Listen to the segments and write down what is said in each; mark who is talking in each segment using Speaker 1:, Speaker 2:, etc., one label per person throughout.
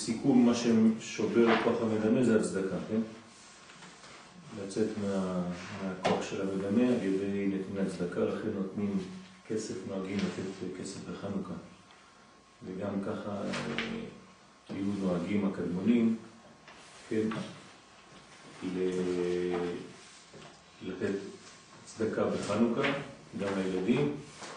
Speaker 1: לסיכום, מה ששובר את כוח המדמה זה הצדקה, כן? לצאת מהכוח של המדמה על ידי נתינת צדקה, לכן נותנים כסף, נוהגים לתת כסף בחנוכה. וגם ככה היו נוהגים הקדמונים, כן? לתת צדקה בחנוכה, גם לילדים,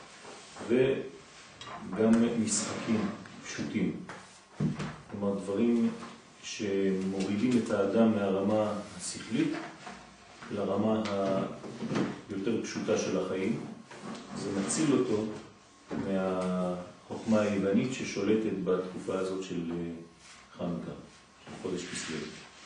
Speaker 1: וגם משחקים פשוטים. כלומר, דברים שמורידים את האדם מהרמה השכלית לרמה היותר פשוטה של החיים. זה מציל אותו מהחוכמה היוונית ששולטת בתקופה הזאת של חנוכה, של חודש כסלו.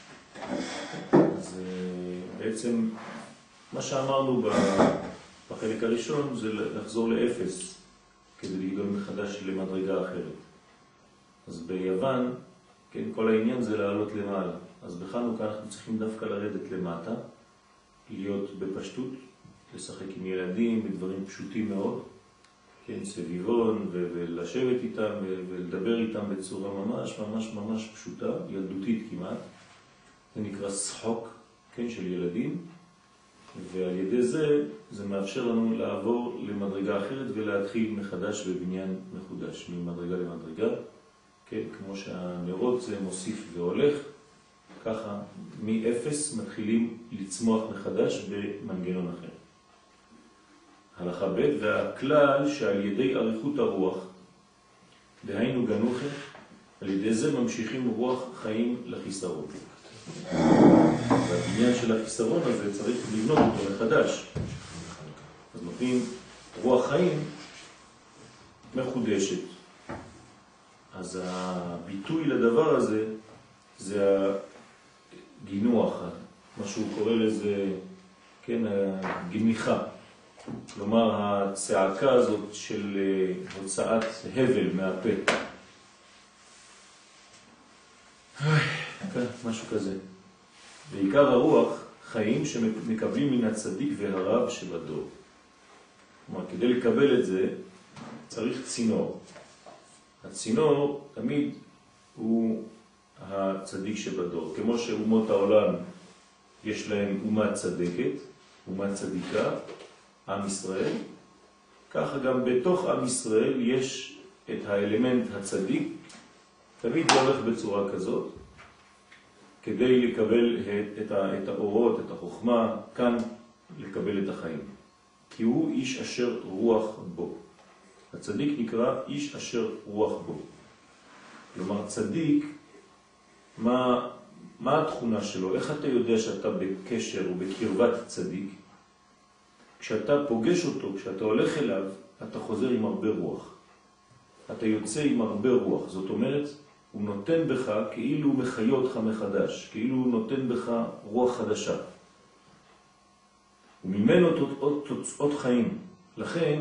Speaker 1: אז בעצם מה שאמרנו בחלק הראשון זה לחזור לאפס כדי לגדול מחדש למדרגה אחרת. אז ביוון, כן, כל העניין זה לעלות למעלה. אז בחנוכה אנחנו צריכים דווקא לרדת למטה, להיות בפשטות, לשחק עם ילדים בדברים פשוטים מאוד, כן, סביבון, ולשבת איתם ולדבר איתם בצורה ממש פשוטה, ילדותית כמעט. זה נקרא שחוק, כן, של ילדים, ועל ידי זה מאפשר לנו לעבור למדרגה אחרת ולהתחיל מחדש בבניין מחודש, ממדרגה למדרגה. כן, כמו שהנרות זה מוסיף והולך, ככה מאפס מתחילים לצמוח מחדש במנגנון אחר. הלכה ב' והכלל שעל ידי אריכות הרוח, דהיינו גנוחה, על ידי זה ממשיכים רוח חיים לחיסרון. והבניין של החיסרון הזה צריך לבנות אותו מחדש. אז נותנים רוח חיים מחודשת. אז הביטוי לדבר הזה זה הגינוח, מה שהוא קורא לזה, כן, הגניחה. כלומר, הצעקה הזאת של הוצאת הבל מהפה. משהו כזה. בעיקר הרוח חיים שמקבלים מן הצדיק והרב שבדור. כלומר, כדי לקבל את זה צריך צינור. הצינור תמיד הוא הצדיק שבדור. כמו שאומות העולם יש להם אומה צדקת, אומה צדיקה, עם ישראל, ככה גם בתוך עם ישראל יש את האלמנט הצדיק, תמיד זה הולך בצורה כזאת, כדי לקבל את האורות, את החוכמה, כאן לקבל את החיים. כי הוא איש אשר רוח בו. הצדיק נקרא איש אשר רוח בו. כלומר, צדיק, מה התכונה שלו? איך אתה יודע שאתה בקשר ובקרבת צדיק? כשאתה פוגש אותו, כשאתה הולך אליו, אתה חוזר עם הרבה רוח. אתה יוצא עם הרבה רוח. זאת אומרת, הוא נותן בך כאילו הוא מחיה אותך מחדש, כאילו הוא נותן בך רוח חדשה. וממנו תוצאות חיים. לכן,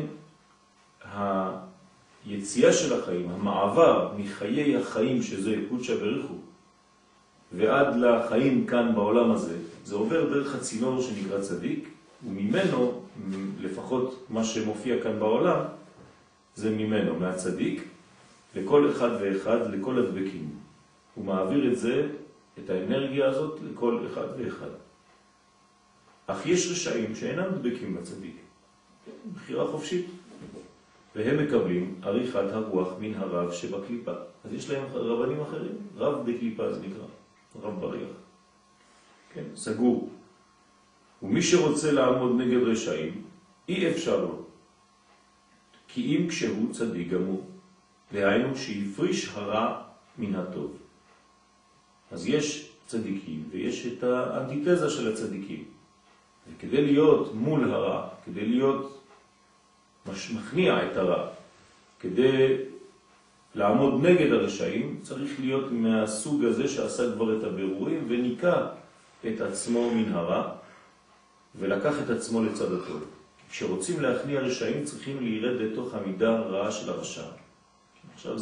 Speaker 1: היציאה של החיים, המעבר מחיי החיים שזה קודשא בריך הוא, ועד לחיים כאן בעולם הזה, זה עובר דרך הצינור שנקרא צדיק, וממנו, לפחות מה שמופיע כאן בעולם, זה ממנו, מהצדיק, לכל אחד ואחד, לכל הדבקים. הוא מעביר את זה, את האנרגיה הזאת, לכל אחד ואחד. אך יש רשעים שאינם דבקים בצדיק. בחירה חופשית. והם מקבלים עריכת הרוח מן הרב שבקליפה. אז יש להם רבנים אחרים. רב בקליפה זה נקרא. רב בריח. כן, סגור. ומי שרוצה לעמוד נגד רשעים, אי אפשר לו. כי אם כשהוא צדיק גמור, דהיינו שיפריש הרע מן הטוב. אז יש צדיקים ויש את האנטיתזה של הצדיקים. וכדי להיות מול הרע, כדי להיות מכניע את הרע, כדי לעמוד נגד הרשעים, צריך להיות מהסוג הזה שעשה כבר את הבירורים וניקה את עצמו מן הרע ולקח את עצמו לצד הטוב. כשרוצים להכניע רשעים צריכים להירד לתוך המידה הרעה של הרשע. עכשיו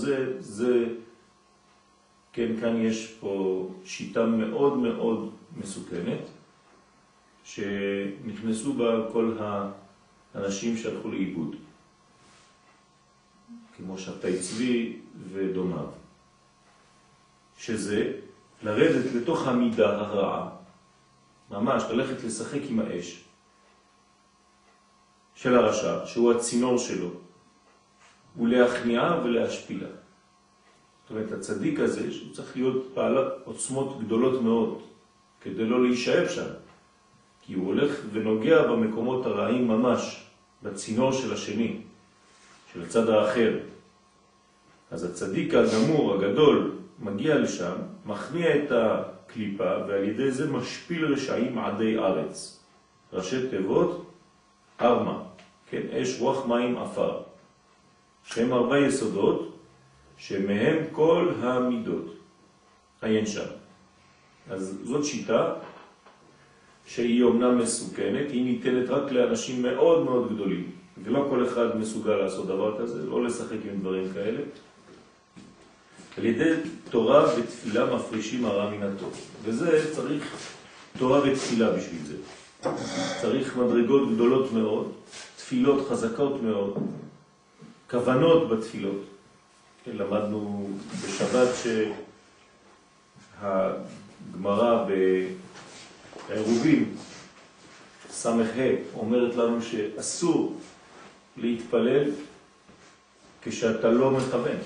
Speaker 1: כן, כאן יש פה שיטה מאוד מאוד מסוכנת, שנכנסו בה כל האנשים שהלכו לאיבוד, כמו שבתאי צבי ודומיו, שזה לרדת לתוך המידה הרעה, ממש ללכת לשחק עם האש של הרשע, שהוא הצינור שלו, ולהכניעה ולהשפילה. זאת אומרת, הצדיק הזה, שהוא צריך להיות בעל עוצמות גדולות מאוד, כדי לא להישאב שם, כי הוא הולך ונוגע במקומות הרעים ממש, בצינור של השני, של הצד האחר. אז הצדיק הגמור, הגדול, מגיע לשם, מכניע את הקליפה, ועל ידי זה משפיל רשעים עדי ארץ. ראשי תיבות, ארמה, כן, אש, רוח, מים, אפר. שהם 4 יסודות, שמהם כל המידות. עיין שם. אז זאת שיטה, שהיא אומנם מסוכנת, היא ניתנת רק לאנשים מאוד מאוד גדולים, ולא כל אחד מסוגל לעשות דבר כזה, לא לשחק עם דברים כאלה. על ידי תורה ותפילה מפרישים הרע מן הטוב. וזה צריך תורה ותפילה בשביל זה. צריך מדרגות גדולות מאוד, תפילות חזקות מאוד, כוונות בתפילות. למדנו בשבת שהגמרא בעירובין סמך אומרת לנו שאסור להתפלל כשאתה לא מכוון.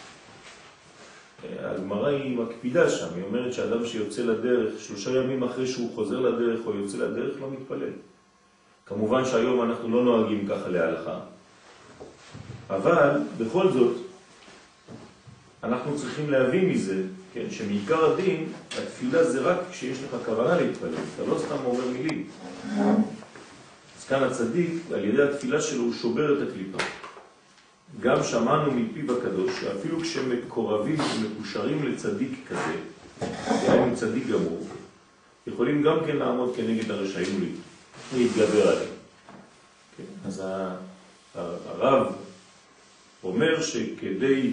Speaker 1: הגמרא היא מקפידה שם, היא אומרת שאדם שיוצא לדרך 3 ימים אחרי שהוא חוזר לדרך או יוצא לדרך לא מתפלל. כמובן שהיום אנחנו לא נוהגים ככה להלכה, אבל בכל זאת אנחנו צריכים להבין מזה, כן, שמעיקר הדין, התפילה זה רק כשיש לך כוונה להתפלל, אתה לא סתם אומר מילים. אז כאן הצדיק, על ידי התפילה שלו, הוא שובר את הקליפה. גם שמענו מפיו הקדוש, שאפילו כשמקורבים ומקושרים לצדיק כזה, דהיינו צדיק גמור, יכולים גם כן לעמוד כנגד הרשעים להתגבר עליהם. כן? אז הרב אומר שכדי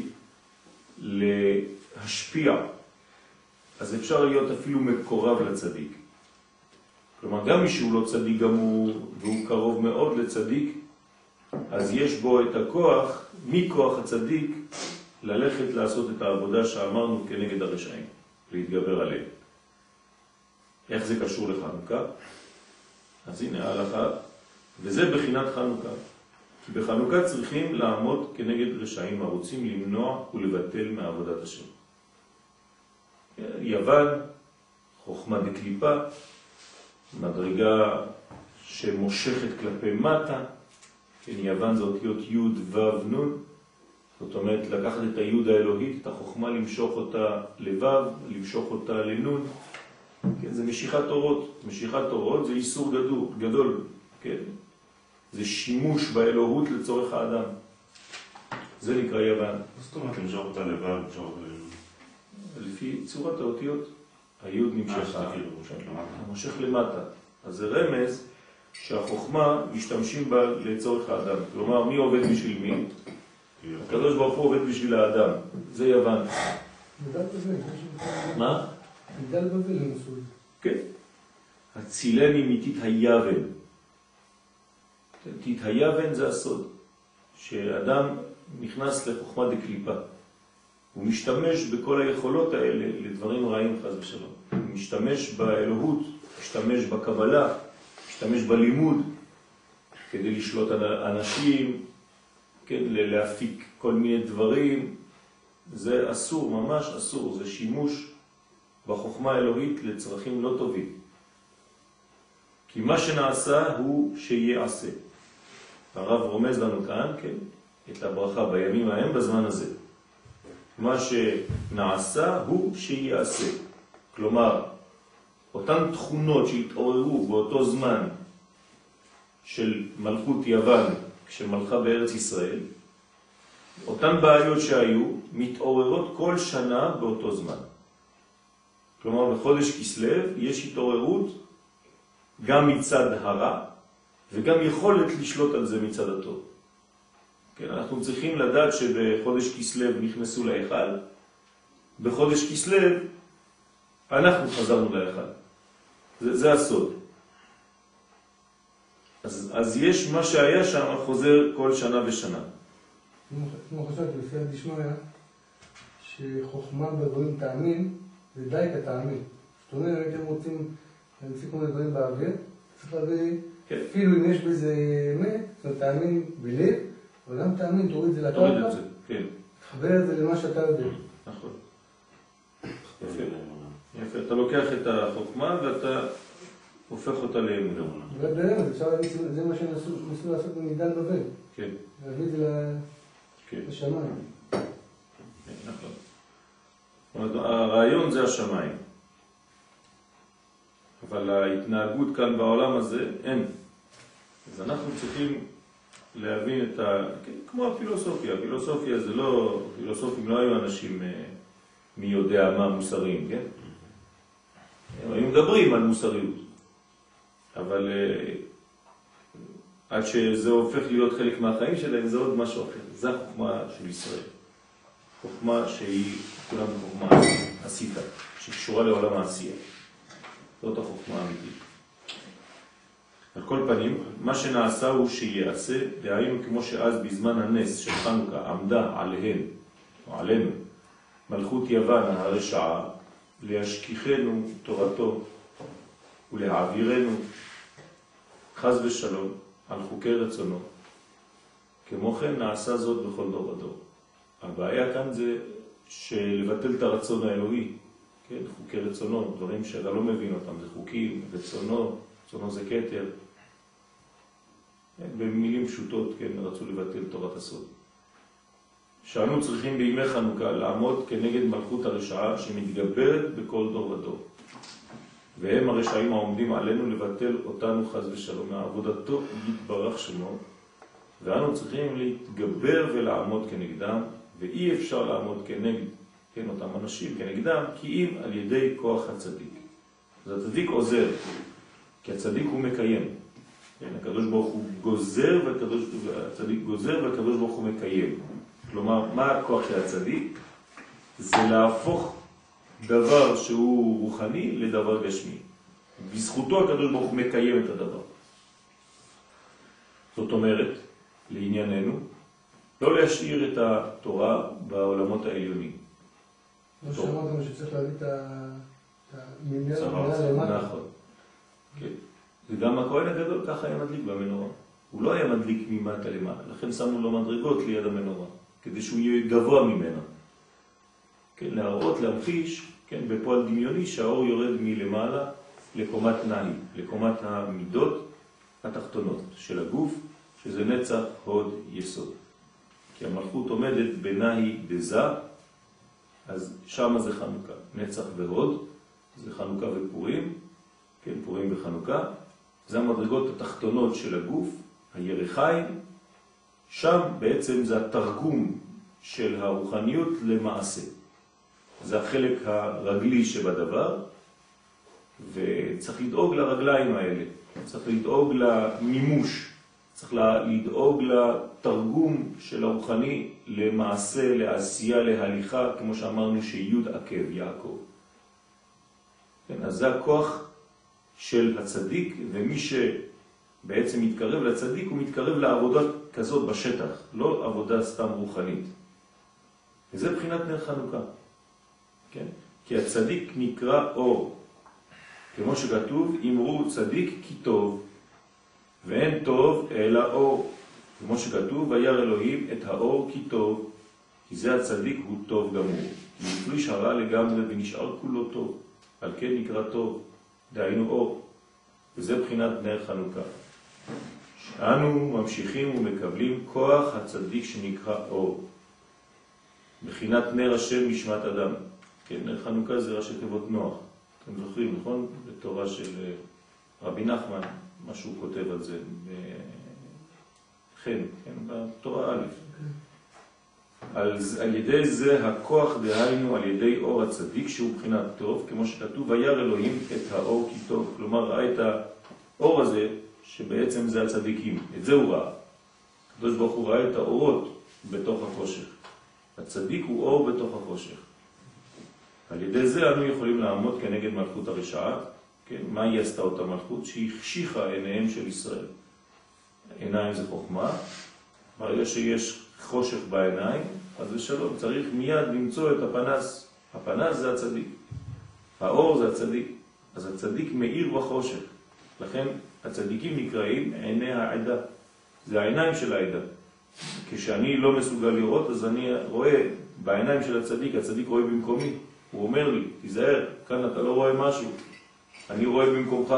Speaker 1: להשפיע, אז אפשר להיות אפילו מקורב לצדיק. כלומר, גם מי שהוא לא צדיק גמור, והוא קרוב מאוד לצדיק, אז יש בו את הכוח, מכוח הצדיק, ללכת לעשות את העבודה שאמרנו כנגד הרשעים, להתגבר עליהם. איך זה קשור לחנוכה? אז הנה ההלכה, וזה בחינת חנוכה. כי בחנוכה צריכים לעמוד כנגד רשעים הרוצים למנוע ולבטל מעבודת השם. יוון, חוכמה דקליפה, מדרגה שמושכת כלפי מטה, כן, יוון זה אותיות י' ו' נ', זאת אומרת לקחת את הי' האלוהית, את החוכמה, למשוך אותה לו', למשוך אותה לנ', כן, זה משיכת אורות. משיכת אורות זה איסור גדול, כן? זה שימוש באלוהות לצורך האדם. זה נקרא יוון.
Speaker 2: זאת אומרת, למשוך אותה לו', למשוך אותה לנ'.
Speaker 1: לפי צורת האותיות, היוד נמשכה, המושך למטה. אז זה רמז שהחוכמה משתמשים בה לצורך האדם. כלומר, מי עובד בשביל מי? הקדוש ברוך הוא עובד בשביל האדם. זה יוון.
Speaker 3: מגדל בבל.
Speaker 1: מה?
Speaker 3: מגדל בבל לנסוי.
Speaker 1: כן. הצילני מתית היוון. תית היוון זה הסוד. שאדם נכנס לחוכמה דקליפה. הוא משתמש בכל היכולות האלה לדברים רעים חס ושלום. הוא משתמש באלוהות, משתמש בקבלה, משתמש בלימוד, כדי לשלוט אנשים, כן, להפיק כל מיני דברים. זה אסור, ממש אסור. זה שימוש בחוכמה האלוהית לצרכים לא טובים. כי מה שנעשה הוא שיעשה. הרב רומז לנו כאן, כן, את הברכה בימים ההם בזמן הזה. מה שנעשה הוא שיעשה. כלומר, אותן תכונות שהתעוררו באותו זמן של מלכות יוון, כשמלכה בארץ ישראל, אותן בעיות שהיו מתעוררות כל שנה באותו זמן. כלומר, בחודש כסלו יש התעוררות גם מצד הרע, וגם יכולת לשלוט על זה מצד הטוב. כן, אנחנו צריכים לדעת שבחודש כסלו נכנסו להיכל, בחודש כסלו אנחנו חזרנו להיכל. זה הסוד. אז יש מה שהיה שם חוזר כל שנה ושנה.
Speaker 3: כמו חשבתי, לפי הדשמיא, שחוכמה בדברים תאמין, זה די כתאמין. זאת אומרת, אם רוצים להמציא כל מיני דברים באוויר, צריך להביא, אפילו אם יש בזה אמת, זאת אומרת, תאמין בלב, אבל גם תאמין, תוריד את זה לקרקע, תחבר את זה למה שאתה יודע.
Speaker 1: נכון. יפה. יפה. אתה לוקח את החוכמה ואתה הופך אותה לאמונה.
Speaker 3: זה מה שניסו לעשות במגדל בבל.
Speaker 1: כן.
Speaker 3: להביא את זה לשמיים.
Speaker 1: נכון. זאת אומרת, הרעיון זה השמיים. אבל ההתנהגות כאן בעולם הזה אין. אז אנחנו צריכים להבין את כמו הפילוסופיה. הפילוסופיה זה לא, פילוסופים לא היו אנשים מי יודע מה מוסריים, כן? הם היו מדברים על מוסריות. אבל עד שזה הופך להיות חלק מהחיים שלהם, זה עוד משהו אחר. זה החוכמה של ישראל. חוכמה שהיא כולם חוכמה עשיתה, שקשורה לעולם העשייה. זאת החוכמה האמיתית. על כל פנים, מה שנעשה הוא שיעשה, דהיינו כמו שאז בזמן הנס של חנוכה עמדה עליהן, או עלינו, מלכות יוון הרשעה, להשכיחנו תורתו ולהעבירנו חס ושלום על חוקי רצונו. כמו כן נעשה זאת בכל דור ודור. הבעיה כאן זה שלבטל את הרצון האלוהי, כן? חוקי רצונו, דברים שאתה לא מבין אותם, זה חוקים, רצונו, רצונו זה כתר. במילים פשוטות, כן, רצו לבטל תורת הסוד. שאנו צריכים בימי חנוכה לעמוד כנגד מלכות הרשעה שמתגברת בכל דור ודור. והם הרשעים העומדים עלינו לבטל אותנו חס ושלום מעבודתו יתברך שמו, ואנו צריכים להתגבר ולעמוד כנגדם, ואי אפשר לעמוד כנגד, כן, אותם אנשים כנגדם, כי אם על ידי כוח הצדיק. אז הצדיק עוזר, כי הצדיק הוא מקיים. כן, הקדוש ברוך הוא גוזר, והצדיק גוזר, והקדוש ברוך הוא מקיים. כלומר, מה הכוח של הצדיק? זה להפוך דבר שהוא רוחני לדבר גשמי. בזכותו הקדוש ברוך הוא מקיים את הדבר. זאת אומרת, לענייננו, לא להשאיר את התורה בעולמות העליונים.
Speaker 3: לא שאמרת מה שצריך להביא את המילה למטה.
Speaker 1: נכון. כן. וגם הכהן הגדול ככה היה מדליק במנורה. הוא לא היה מדליק ממטה למעלה, לכן שמנו לו מדרגות ליד המנורה, כדי שהוא יהיה גבוה ממנה. כן, להראות, להמחיש, כן, בפועל דמיוני שהאור יורד מלמעלה לקומת נאי, לקומת המידות התחתונות של הגוף, שזה נצח, הוד, יסוד. כי המלכות עומדת בנאי דזה, אז שם זה חנוכה. נצח והוד, זה חנוכה ופורים, כן, פורים וחנוכה. זה המדרגות התחתונות של הגוף, הירחיים. שם בעצם זה התרגום של הרוחניות למעשה. זה החלק הרגלי שבדבר, וצריך לדאוג לרגליים האלה. צריך לדאוג למימוש. צריך לדאוג לתרגום של הרוחני למעשה, לעשייה, להליכה, כמו שאמרנו שיוד עקב, יעקב. כן, אז זה הכוח של הצדיק, ומי שבעצם מתקרב לצדיק, הוא מתקרב לעבודה כזאת בשטח, לא עבודה סתם רוחנית. וזה בחינת נר חנוכה. כן? כי הצדיק נקרא אור. כמו שכתוב, אמרו צדיק כי טוב, ואין טוב אלא אור. כמו שכתוב, וירא אלוהים את האור כי טוב, כי זה הצדיק הוא טוב גמור. כי הפריש הרע לגמרי ונשאר כולו טוב. על כן נקרא טוב, דהיינו אור. וזה בחינת נר חנוכה. שאנו ממשיכים ומקבלים כוח הצדיק שנקרא אור. בחינת נר השם נשמת אדם. כן, נר חנוכה זה ראשי תיבות נוח. אתם זוכרים, נכון? בתורה של רבי נחמן, מה שהוא כותב על זה, כן, בתורה א'. על ידי זה הכוח דהיינו על ידי אור הצדיק שהוא בחינת טוב, כמו שכתוב, וירא אלוהים את האור כי טוב. כלומר, ראה את האור הזה, שבעצם זה הצדיקים. את זה הוא ראה. הקדוש ברוך הוא ראה את האורות בתוך החושך. הצדיק הוא אור בתוך החושך. על ידי זה אנו יכולים לעמוד כנגד מלכות הרשעה. כן? מה היא עשתה אותה מלכות? שהיא החשיכה עיניהם של ישראל. עיניים זה חוכמה, ברגע שיש חושך בעיניים, אז ושלום, צריך מיד למצוא את הפנס. הפנס זה הצדיק. האור זה הצדיק. אז הצדיק מאיר בחושך. לכן הצדיקים נקראים עיני העדה. זה העיניים של העדה. כשאני לא מסוגל לראות, אז אני רואה בעיניים של הצדיק, הצדיק רואה במקומי. הוא אומר לי, תיזהר, כאן אתה לא רואה משהו. אני רואה במקומך.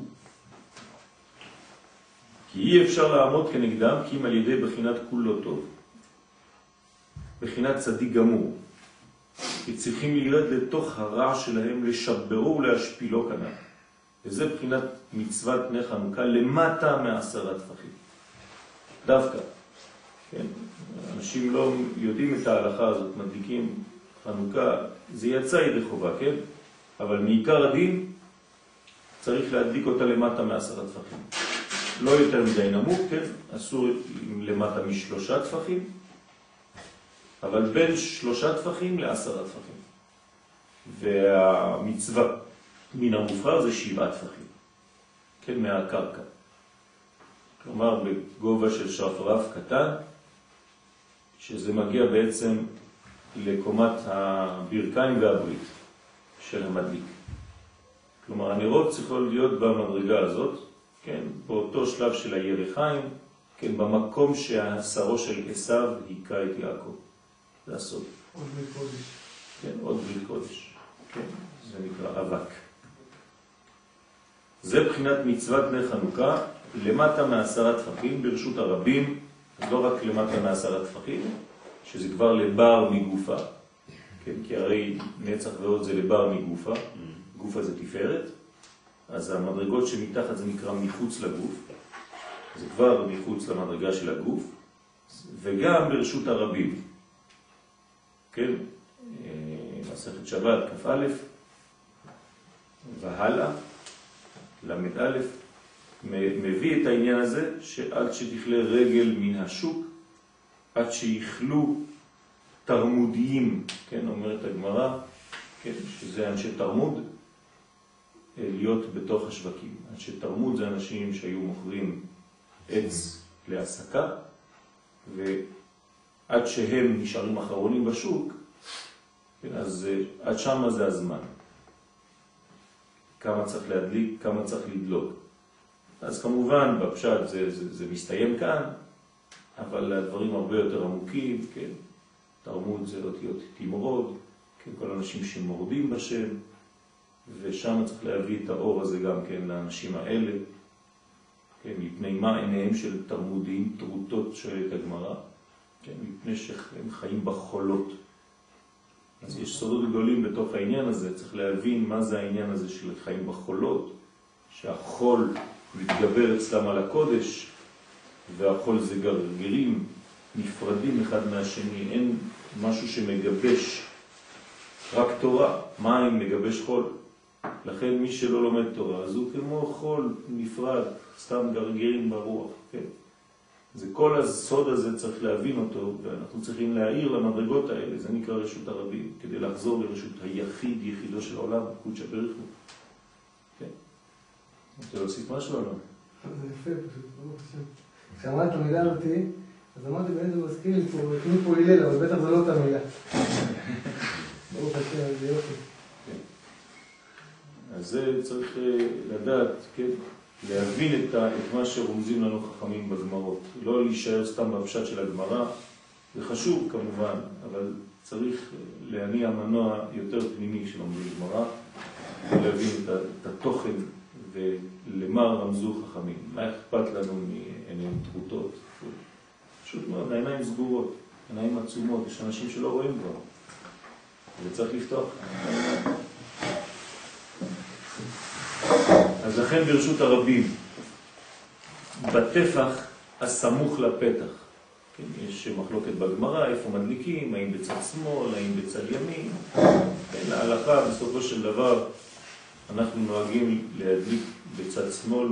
Speaker 1: כי אי אפשר לעמוד כנגדם, כי אם על ידי בחינת כולו טוב. בחינת צדיק גמור. כי צריכים לרד לתוך הרע שלהם, לשברו ולהשפילו כנף. וזה בחינת מצוות בני חנוכה למטה מ10 טפחים. דווקא. כן? אנשים לא יודעים את ההלכה הזאת, מדליקים חנוכה, זה יצא ידי חובה, כן? אבל מעיקר הדין צריך להדליק אותה למטה מ10 טפחים. לא יותר מדי נמוך, כן? אסור למטה מ3 טפחים, אבל בין 3 טפחים ל10 טפחים. והמצווה מן המובחר זה 7 טפחים, כן? מהקרקע. כלומר, בגובה של שרפרף קטן, שזה מגיע בעצם לקומת הברכיים והברית של המדליק. כלומר, הנרות צריכות להיות במדרגה הזאת, כן, באותו שלב של הירחיים, כן, במקום שהשרו של עשיו היכה את יעקב. זה הסוד.
Speaker 3: עוד ברית קודש.
Speaker 1: כן, עוד ברית קודש. כן, זה נקרא אבק. זה בחינת מצוות בני חנוכה, למטה מ10 טפחים ברשות הרבים, אז לא רק למטה מ10 טפחים, שזה כבר לבר מגופה, כן, כי הרי נצח ועוד זה לבר מגופה, גופה זה תפארת, אז המדרגות שמתחת זה נקרא מחוץ לגוף, זה כבר מחוץ למדרגה של הגוף, וגם ברשות הרבים, כן, מסכת שבת כ"א והלאה, למד א', מביא את העניין הזה שעד שתכלה רגל מן השוק, עד שיכלו תרמודיים, כן, אומרת הגמרא, כן, שזה אנשי תרמוד, להיות בתוך השווקים. אנשי תרמוד זה אנשים שהיו מוכרים עץ להסקה, ועד שהם נשארים אחרונים בשוק, כן, אז עד שמה זה הזמן. כמה צריך להדליק, כמה צריך לדלוק. אז כמובן בפשט זה מסתיים כאן, אבל הדברים הרבה יותר עמוקים, כן, תרמוד זה אותיות תמרוד, כן, כל אנשים שמורדים בשם, ושם צריך להביא את האור הזה גם כן לאנשים האלה, כן, מפני מה עיניהם של תרמודים, תרוטות שואלת הגמרא, כן, מפני שהם חיים בחולות. אז יש סודות גדולים בתוך העניין הזה, צריך להבין מה זה העניין הזה של חיים בחולות, שהחול מתגבר אצלם על הקודש, והחול זה גרגירים נפרדים אחד מהשני, אין משהו שמגבש, רק תורה, מים מגבש חול. לכן מי שלא לומד תורה, אז הוא כמו חול נפרד, סתם גרגירים ברוח, כן? זה כל הסוד הזה צריך להבין אותו, ואנחנו צריכים להעיר למדרגות האלה, זה נקרא רשות הרבים, כדי לחזור לרשות היחיד, יחידו של העולם, קודשא בריך הוא. כן? רוצה להוסיף משהו או לא?
Speaker 3: זה יפה פשוט, ברוך השם. כשאמרת את המילה אותי, אז אמרתי באמת זה מזכיר לי פה הלל, אבל בטח זה לא אותה מילה. ברוך השם, זה יופי.
Speaker 1: אז זה צריך לדעת, כן? להבין את מה שרומזים לנו חכמים בגמרות. לא להישאר סתם בפשט של הגמרא, זה חשוב כמובן, אבל צריך להניע מנוע יותר פנימי שלומדים גמרא, ולהבין את התוכן ולמה רמזו חכמים. מה אכפת לנו מעיניים תרוטות? פשוט מאוד, העיניים סגורות, עיניים עצומות, יש אנשים שלא רואים כבר, וצריך לפתוח. אז לכן ברשות הרבים, בטפח הסמוך לפתח, כן, יש מחלוקת בגמרא, איפה מדליקים, האם בצד שמאל, האם בצד ימין, כן, ההלכה בסופו של דבר, אנחנו נוהגים להדליק בצד שמאל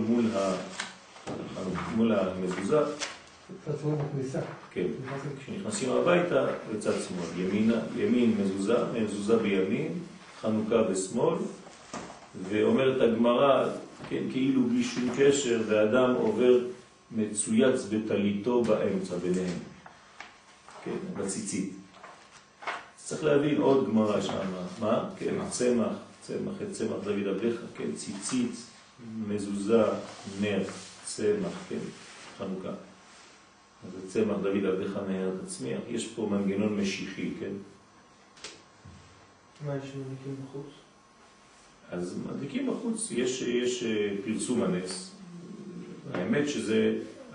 Speaker 1: מול המזוזה.
Speaker 3: בצד שמאל בכניסה.
Speaker 1: כן, כשנכנסים הביתה, בצד שמאל, ימין מזוזה בימין, חנוכה בשמאל, ואומרת הגמרא, כן, כאילו בלי שום קשר, והאדם עובר מצויץ בטליתו באמצע ביניהם, כן, בציצית. צריך להבין עוד גמרא שם, מה? כן, צמח, את צמח דוד עבדך, כן, ציצית, מזוזה, נר, צמח, כן, חנוכה. אז צמח דוד עבדך נהר תצמיח, יש פה מנגנון משיחי, כן?
Speaker 3: מה יש מדליקים בחוץ?
Speaker 1: אז מדליקים בחוץ, יש פרסום הנס. האמת שזה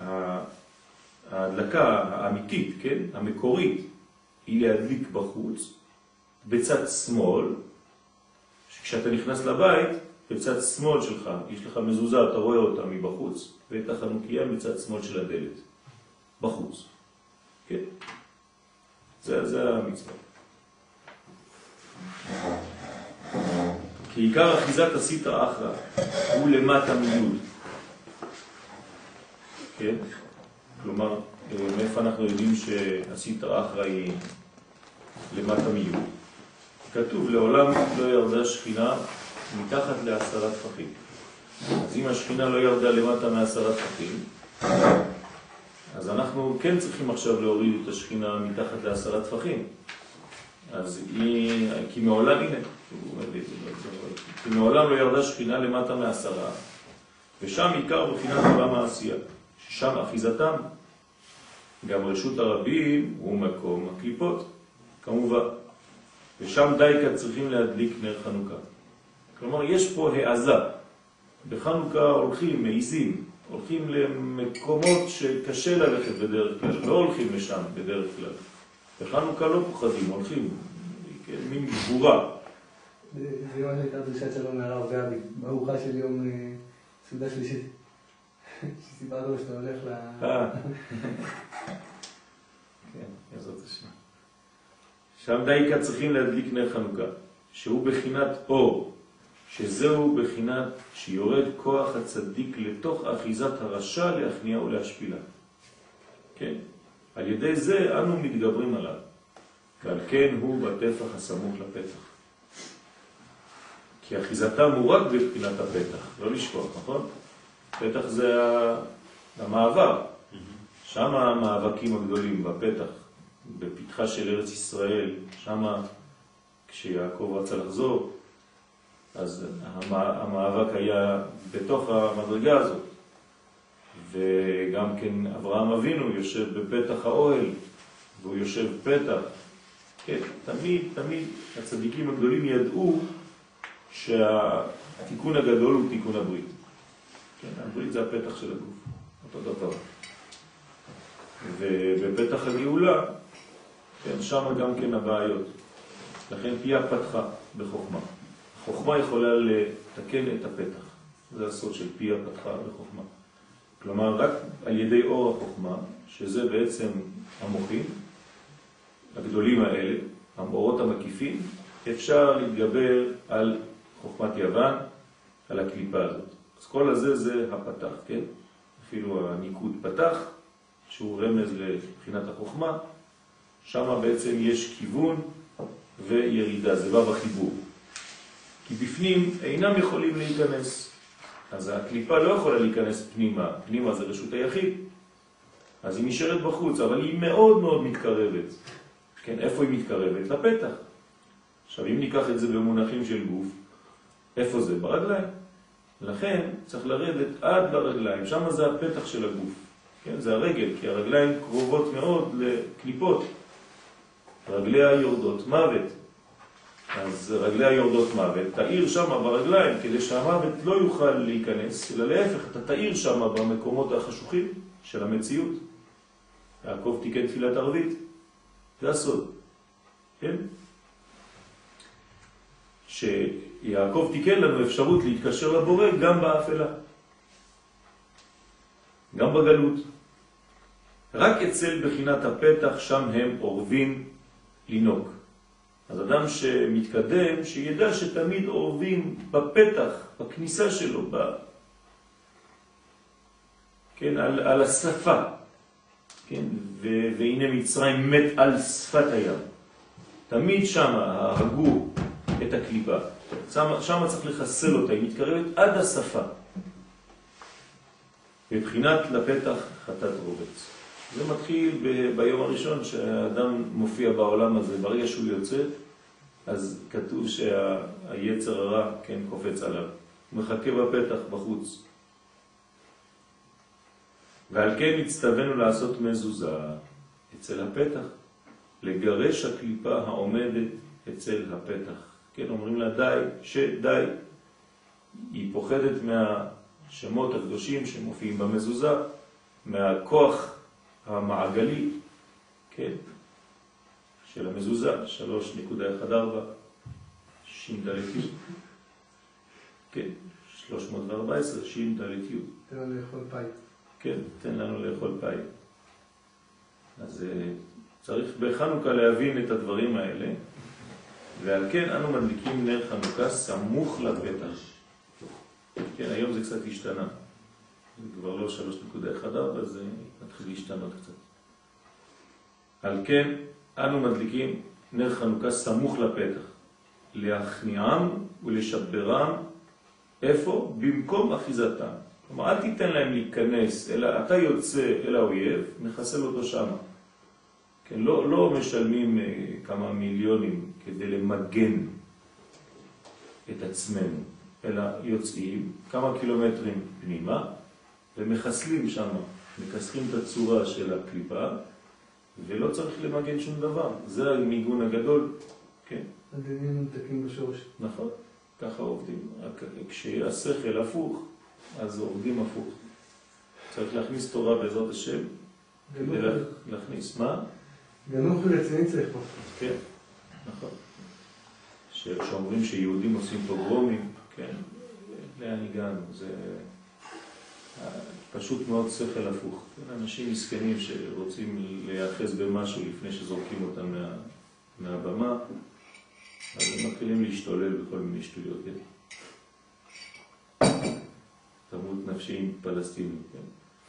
Speaker 1: ההדלקה האמיתית, כן? המקורית, היא להדליק בחוץ, בצד שמאל, כשאתה נכנס לבית, בצד שמאל שלך, יש לך מזוזה, אתה רואה אותה מבחוץ, ואת החנוכיה בצד שמאל של הדלת, בחוץ. כן? זה המצווה. כי עיקר אחיזת הסטרא אחרא הוא למטה מיוד. כן? כלומר, מאיפה אנחנו יודעים שהסטרא אחרא היא למטה מיוד? כתוב, לעולם לא ירדה שכינה מתחת ל10 טפחים. אז אם השכינה לא ירדה למטה מ10 טפחים, אז אנחנו כן צריכים עכשיו להוריד את השכינה מתחת ל10 טפחים. אז היא, כי מעולם, הנה, כי מעולם לא ירדה שכינה למטה מ10, ושם עיקר בחינת עולם העשייה, ששם אחיזתם, גם רשות הרבים הוא מקום הקליפות, כמובן, ושם דייקה צריכים להדליק נר חנוכה. כלומר, יש פה העזה. בחנוכה הולכים, מעיזים, הולכים למקומות שקשה ללכת בדרך כלל, לא הולכים לשם בדרך כלל. בחנוכה לא פוחדים, הולכים, מין גבורה.
Speaker 3: זה מה שהייתה דרישת שלום מהרב גבי, בארוחה של יום סעודה שלישית. שסיפרת לו שאתה הולך
Speaker 1: כן, יעזרת השם. שם דייקה צריכים להדליק נר חנוכה, שהוא בחינת אור, שזהו בחינת שיורד כוח הצדיק לתוך אחיזת הרשע להכניע ולהשפילה. כן? על ידי זה אנו מתגברים עליו, ועל כן הוא בטפח הסמוך לפתח. כי אחיזתם הוא רק בבחינת הפתח, לא לשכוח, נכון? פתח זה המעבר. שם המאבקים הגדולים בפתח, בפתחה של ארץ ישראל, שם כשיעקב רצה לחזור, אז המאבק היה בתוך המדרגה הזאת. וגם כן אברהם אבינו יושב בפתח האוהל, והוא יושב פתח. כן, תמיד הצדיקים הגדולים ידעו שהתיקון הגדול הוא תיקון הברית. כן, הברית זה הפתח של הגוף, אותו דבר. ובפתח הגאולה, כן, שם גם כן הבעיות. לכן פיה פתחה בחוכמה. חוכמה יכולה לתקן את הפתח. זה הסוד של פיה פתחה בחוכמה. כלומר, רק על ידי אור החוכמה, שזה בעצם המוחים הגדולים האלה, המאורות המקיפים, אפשר להתגבר על חוכמת יוון, על הקליפה הזאת. אז כל הזה זה הפתח, כן? אפילו הניקוד פתח, שהוא רמז לבחינת החוכמה, שם בעצם יש כיוון וירידה, זה בא בחיבור. כי בפנים אינם יכולים להיכנס. אז הקליפה לא יכולה להיכנס פנימה, פנימה זה רשות היחיד. אז היא נשארת בחוץ, אבל היא מאוד מאוד מתקרבת. כן, איפה היא מתקרבת? לפתח. עכשיו, אם ניקח את זה במונחים של גוף, איפה זה? ברגליים. לכן צריך לרדת עד לרגליים, שם זה הפתח של הגוף. כן, זה הרגל, כי הרגליים קרובות מאוד לקליפות. רגליה יורדות מוות. אז רגליה יורדות מוות, תאיר שם ברגליים, כדי שהמוות לא יוכל להיכנס, אלא להפך, אתה תאיר שם במקומות החשוכים של המציאות. יעקב תיקן תפילת ערבית, זה הסוד. כן? שיעקב תיקן לנו אפשרות להתקשר לבורא גם באפלה. גם בגלות. רק אצל בחינת הפתח שם הם אורבים לינוק. אז אדם שמתקדם, שידע שתמיד אורבים בפתח, בכניסה שלו, כן, על השפה. כן? והנה מצרים מת על שפת הים. תמיד שם הרגו את הקליפה. שם צריך לחסל אותה, היא מתקרבת עד השפה. בבחינת לפתח חטאת רובץ. זה מתחיל ביום הראשון שהאדם מופיע בעולם הזה, ברגע שהוא יוצא, אז כתוב שהיצר הרע כן קופץ עליו. הוא מחכה בפתח בחוץ. ועל כן הצטווינו לעשות מזוזה אצל הפתח, לגרש הקליפה העומדת אצל הפתח. כן, אומרים לה די, שדי. היא פוחדת מהשמות הקדושים שמופיעים במזוזה, מהכוח המעגלי, כן, של המזוזה, 3.14, ש"ד, כן, 314, ש"ד.
Speaker 3: תן לנו לאכול פאי.
Speaker 1: כן, תן לנו לאכול פאי. אז צריך בחנוכה להבין את הדברים האלה, ועל כן אנו מדליקים נר חנוכה סמוך לפתח. כן, היום זה קצת השתנה. זה כבר לא 3.14, זה מתחיל להשתנות קצת. על כן אנו מדליקים נר חנוכה סמוך לפתח, להכניעם ולשברם. איפה? במקום אחיזתם. כלומר, אל תיתן להם להיכנס, אלא אתה יוצא אל האויב, מחסל אותו שם. כן, לא משלמים כמה מיליונים כדי למגן את עצמנו, אלא יוצאים כמה קילומטרים פנימה ומחסלים שם, מקסחים את הצורה של הקליפה, ולא צריך למגן שום דבר. זה המיגון הגדול, כן.
Speaker 3: הדינים מנתקים בשורש.
Speaker 1: נכון, ככה עובדים. כשהשכל הפוך, אז עובדים הפוך. צריך להכניס תורה בעזרת השם, כדי להכניס מה?
Speaker 3: גנוך ורציני צריך פה.
Speaker 1: כן, נכון. שאומרים שיהודים עושים פוגרומים, כן, לאן הגענו? זה פשוט מאוד שכל הפוך. אנשים מסכנים שרוצים להיאחז במשהו לפני שזורקים אותם מהבמה, אז הם מתחילים להשתולל בכל מיני שטויות. תמות נפשי עם פלסטינים. כן?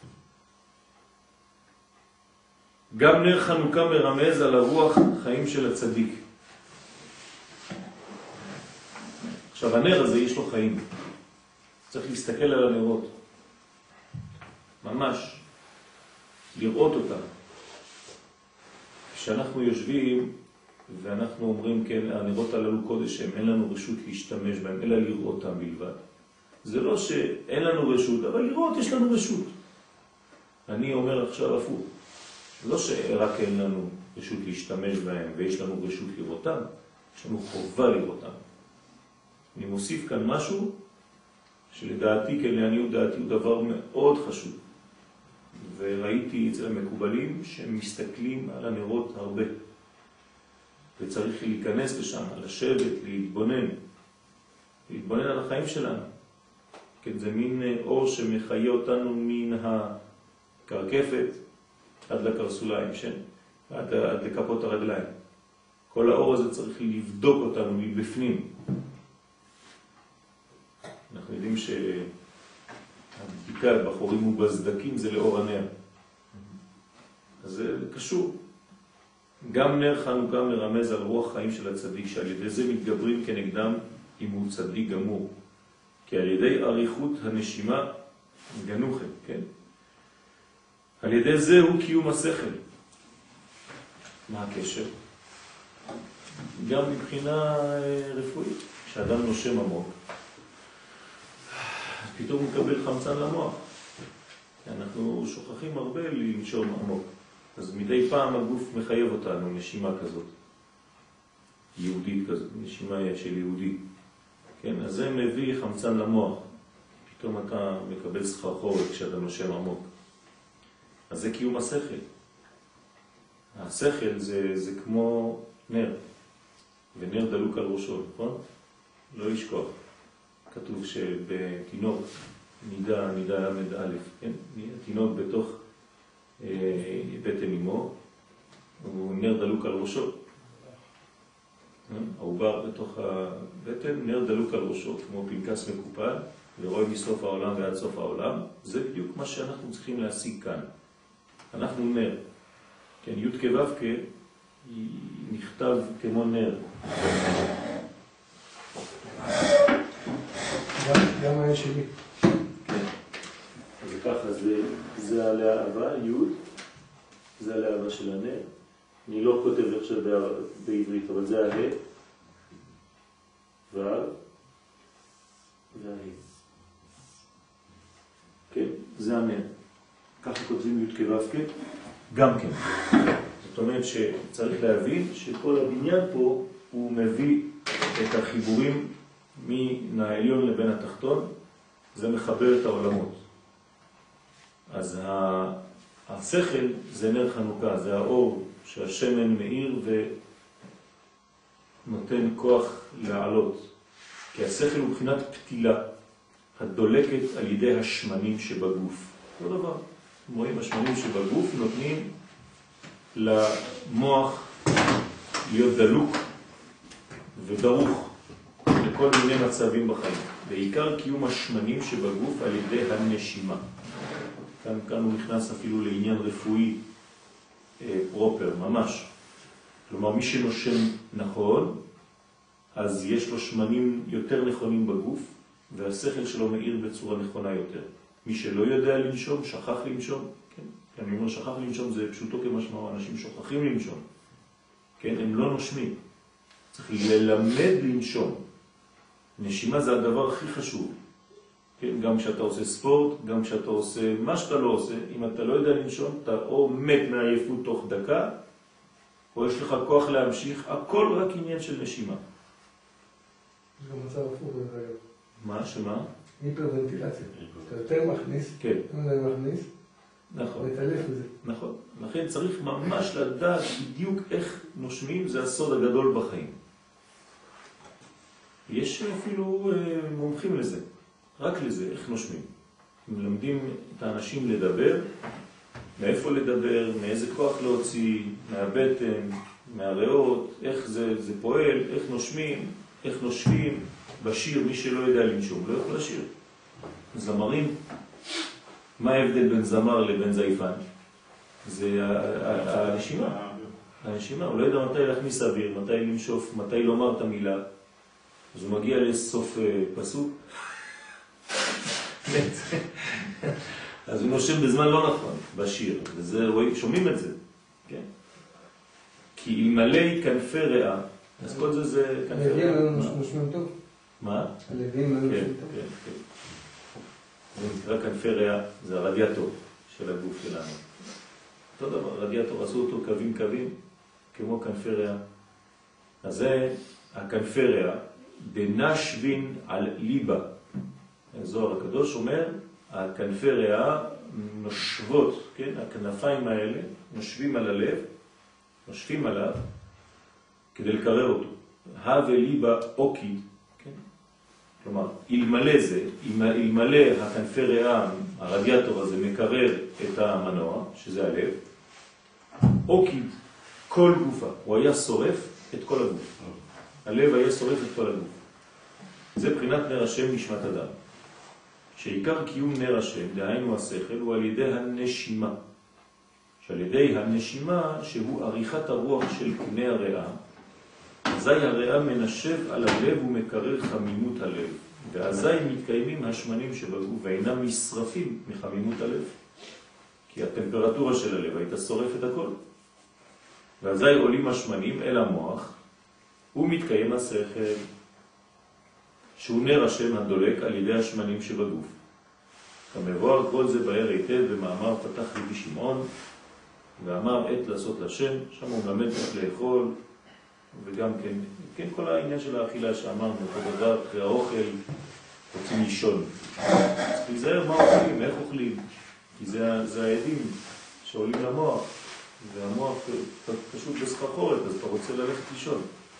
Speaker 1: גם נר חנוכה מרמז על הרוח חיים של הצדיק. עכשיו הנר הזה יש לו חיים. צריך להסתכל על הנרות. ממש. לראות אותם. כשאנחנו יושבים ואנחנו אומרים כן, הנרות הללו קודש הם, אין לנו רשות להשתמש בהם, אלא לראות אותם בלבד. זה לא שאין לנו רשות, אבל לראות יש לנו רשות. אני אומר עכשיו הפוך. לא שרק אין לנו רשות להשתמש בהם ויש לנו רשות לראותם, יש לנו חובה לראותם. אני מוסיף כאן משהו שלדעתי, כן, לעניות דעתי, הוא דבר מאוד חשוב. וראיתי אצל המקובלים שהם מסתכלים על הנרות הרבה. וצריך להיכנס לשם, לשבת, להתבונן על החיים שלנו. כן, זה מין אור שמחיה אותנו מן הקרקפת עד לקרסוליים, עד לכפות הרגליים. כל האור הזה צריך לבדוק אותנו מבפנים. אנחנו יודעים שהבדיקה בחורים ובסדקים זה לאור הנר. אז זה קשור. גם נר חנוכה מרמז על רוח חיים של הצדיק, שעל ידי זה מתגברים כנגדם אם הוא צדיק גמור. כי על ידי אריכות הנשימה גנוכם, כן? על ידי זה הוא קיום השכל. מה הקשר? גם מבחינה רפואית. כשאדם נושם עמוק, פתאום הוא מקבל חמצן למוח. אנחנו שוכחים הרבה לנשום עמוק. אז מדי פעם הגוף מחייב אותנו נשימה כזאת. יהודית כזאת, נשימה של יהודי. כן, אז זה מביא חמצן למוח. פתאום אתה מקבל סחרחורת כשאתה נושם עמוק. אז זה קיום השכל. השכל זה כמו נר. ונר דלוק על ראשו, נכון? לא ישכוח. כתוב שבתינוק נידה למד א', כן? תינוק בתוך בטן אמו, הוא נר דלוק על ראשו. העובר בתוך הבטן, נר דלוק על ראשו, כמו פנקס מקופל, ורואה מסוף העולם ועד סוף העולם. זה בדיוק מה שאנחנו צריכים להשיג כאן. אנחנו נר. כן, י' כו' נכתב כמו נר.
Speaker 3: גם היה שלי.
Speaker 1: כן. ככה זה הלהבה, י', זה הלהבה של הנר. אני לא כותב עכשיו בעברית, אבל זה הה, ו' והה. כן, זה הנר. ככה כותבים י' כו' כ', גם כן. זאת אומרת שצריך להבין שכל הבניין פה הוא מביא את החיבורים מן העליון לבין התחתון, זה מחבר את העולמות. אז השכל זה נר חנוכה, זה האור שהשמן מאיר ונותן כוח לעלות. כי השכל הוא מבחינת פתילה, הדולקת על ידי השמנים שבגוף. אותו דבר. רואים, השמנים שבגוף נותנים למוח להיות דלוק ודרוך לכל מיני מצבים בחיים. בעיקר קיום השמנים שבגוף על ידי הנשימה. כאן הוא נכנס אפילו לעניין רפואי פרופר, ממש. כלומר, מי שנושם נכון, אז יש לו שמנים יותר נכונים בגוף, והשכל שלו מאיר בצורה נכונה יותר. מי שלא יודע לנשום, שכח לנשום, כן? אני אומר שכח לנשום זה פשוטו כמשמעו, אנשים שוכחים לנשום. כן? הם לא נושמים. צריך ללמד לנשום. נשימה זה הדבר הכי חשוב. כן? גם כשאתה עושה ספורט, גם כשאתה עושה מה שאתה לא עושה, אם אתה לא יודע לנשום, אתה או מת מעייפות תוך דקה, או יש לך כוח להמשיך, הכל רק עניין של נשימה.
Speaker 3: זה גם מצב הפוך דרך אגב.
Speaker 1: מה? שמה?
Speaker 3: היפרוונטילציה. אתה יותר מכניס,
Speaker 1: כן.
Speaker 3: אתה מכניס,
Speaker 1: נכון.
Speaker 3: להתעלף בזה.
Speaker 1: נכון. לכן צריך ממש לדעת בדיוק איך נושמים, זה הסוד הגדול בחיים. יש אפילו מומחים לזה, רק לזה, איך נושמים. מלמדים את האנשים לדבר, מאיפה לדבר, מאיזה כוח להוציא, מהבטן, מהריאות, איך זה פועל, איך נושמים, איך נושבים. בשיר, מי שלא יודע לנשום, לא יכול לשיר. זמרים, מה ההבדל בין זמר לבין זייפן? זה הנשימה. הנשימה, הוא לא יודע מתי להכניס אוויר, מתי לנשוף, מתי לומר את המילה. אז הוא מגיע לסוף פסוק. אז הוא נושם בזמן לא נכון, בשיר. וזה, שומעים את זה. כן? כי אלמלא כנפי ריאה, אז כל זה כנפי ריאה.
Speaker 3: הלווים נושמים טוב?
Speaker 1: מה?
Speaker 3: הלווים נושמים טוב?
Speaker 1: כן, כן. זה נקרא כנפי ריאה, זה הרדיאטור של הגוף שלנו. אותו דבר, רדיאטור, עשו אותו קווים, כמו כנפי ריאה. אז זה הכנפי ריאה, דנשבין על ליבה. זוהר הקדוש אומר, הכנפי ריאה נושבות, כן? הכנפיים האלה נושבים על הלב, נושבים עליו, כדי לקרר אותו. הווה ליבה אוקי, כן? כלומר, אלמלא זה, אלמלא הכנפי ריאה, הרדיאטור הזה מקרר את המנוע, שזה הלב, אוקי, כל גופה, הוא היה שורף את כל הגוף. הלב היה שורף את כל הגוף. זה בחינת נר השם נשמת אדם. שעיקר קיום נר השם, דהיינו השכל, הוא על ידי הנשימה. שעל ידי הנשימה, שהוא עריכת הרוח של קנה הריאה, אזי הריאה מנשב על הלב ומקרר חמימות הלב. ואזי מתקיימים השמנים שבגוף ואינם משרפים מחמימות הלב. כי הטמפרטורה של הלב הייתה שורף את הכל. ואזי עולים השמנים אל המוח, ומתקיים השכל, שהוא נר השם הדולק על ידי השמנים שבגוף. כמבואר כל זה באר היטב במאמר פתח רבי שמעון, ואמר עת לעשות לשם, שם הוא מלמד איך לאכול, וגם כן כל העניין של האכילה שאמרנו, אותו דבר, אחרי האוכל, רוצים לישון. צריך להיזהר מה אוכלים, איך אוכלים, כי זה העדים שעולים למוח, והמוח פשוט בסחרחורת, אז אתה רוצה ללכת לישון.